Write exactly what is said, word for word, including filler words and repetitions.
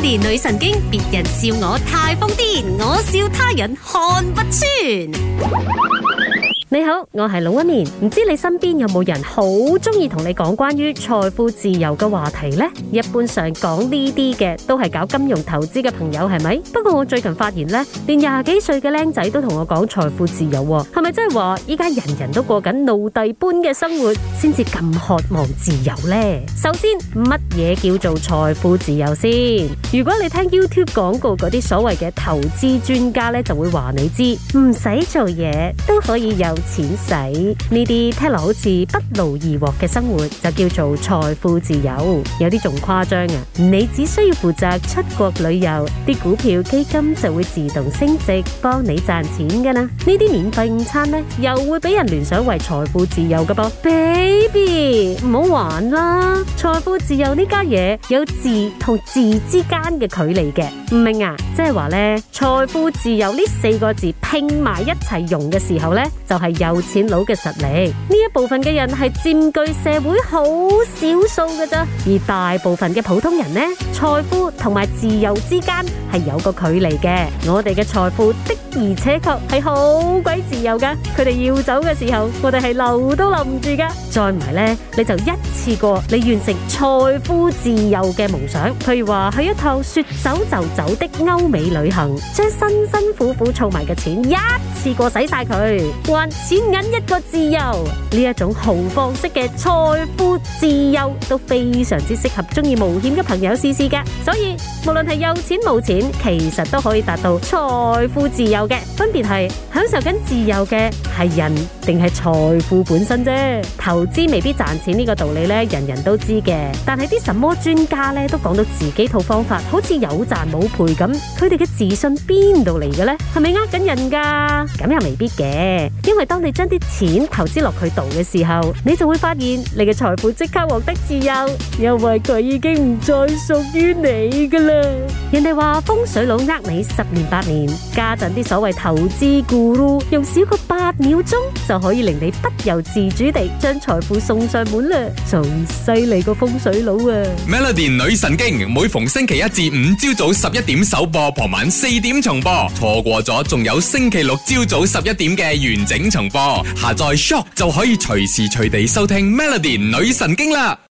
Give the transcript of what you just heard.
Melody 女神經，別人笑我太瘋癲，我笑他人看不穿。 你好，我係龍紋敏，唔知你身邊有冇人好中意同你講關於財富自由嘅話題呢？一般上講呢啲嘅都係搞金融投資嘅朋友，係咪？不過我最近發現呢，連廿幾歲嘅僆仔都同我講財富自由，係咪真係話依家人人都過緊奴隸般嘅生活，先至咁渴望自由呢？首先，乜嘢叫做財富自由先？如果你聽 YouTube 廣告嗰啲所謂嘅投資專家呢，就會話你知，唔使做嘢都可以有錢使，呢啲聽落好似不勞而獲嘅生活就叫做財富自由。有啲仲誇張啊！你只需要負責出國旅遊，啲股票基金就會自動升值，幫你賺錢噶啦。呢啲免費午餐呢，又會俾人聯想為財富自由噶噃。Baby， 唔好玩啦！財富自由呢家嘢有字同字之間嘅距離嘅，唔明啊？即係話呢，財富自由呢四個字拼埋一齊用嘅時候呢，就係有錢佬嘅實力。呢一部分嘅人係佔據社會好少數嘅咋，而大部分嘅普通人呢，財富同埋自由之間係有個距離嘅。我哋嘅財富的而且確係好鬼自由噶，佢哋要走嘅時候，我哋係留都留唔住噶。再唔係呢，你就一次過你完成財富自由嘅夢想，譬如話去一趟說走就走的歐美旅行，將辛辛苦苦儲埋嘅錢一次過使晒佢，還錢銀一個自由。呢一種豪放式嘅財富自由都非常之適合中意冒險嘅朋友試試㗎。所以無論係有錢冇錢，其實都可以達到財富自由嘅。分別係享受緊自由嘅係人定係財富本身啫。投資未必賺錢呢個道理咧，人人都知嘅。但係啲什麼專家咧都講到自己套方法，好似有賺冇賠咁。佢哋嘅自信邊度嚟嘅咧？係咪呃緊人噶？咁又未必嘅，因為當你將啲錢投資落佢度嘅時候，你就會發現你嘅財富即刻獲得自由，因為佢已經唔再屬於你噶啦。人哋話風水佬呃你十年八年，家陣啲所謂投資 guru 用少過八秒鐘就可以令你不由自主地將財富送上門啦，仲犀利過風水佬啊 ！Melody 女神經每逢星期一至五朝早十一點首播，傍晚四點重播，錯過咗仲有星期六朝早十一點嘅完整重播。下載 Shop 就可以隨時隨地收聽 Melody 女神經啦。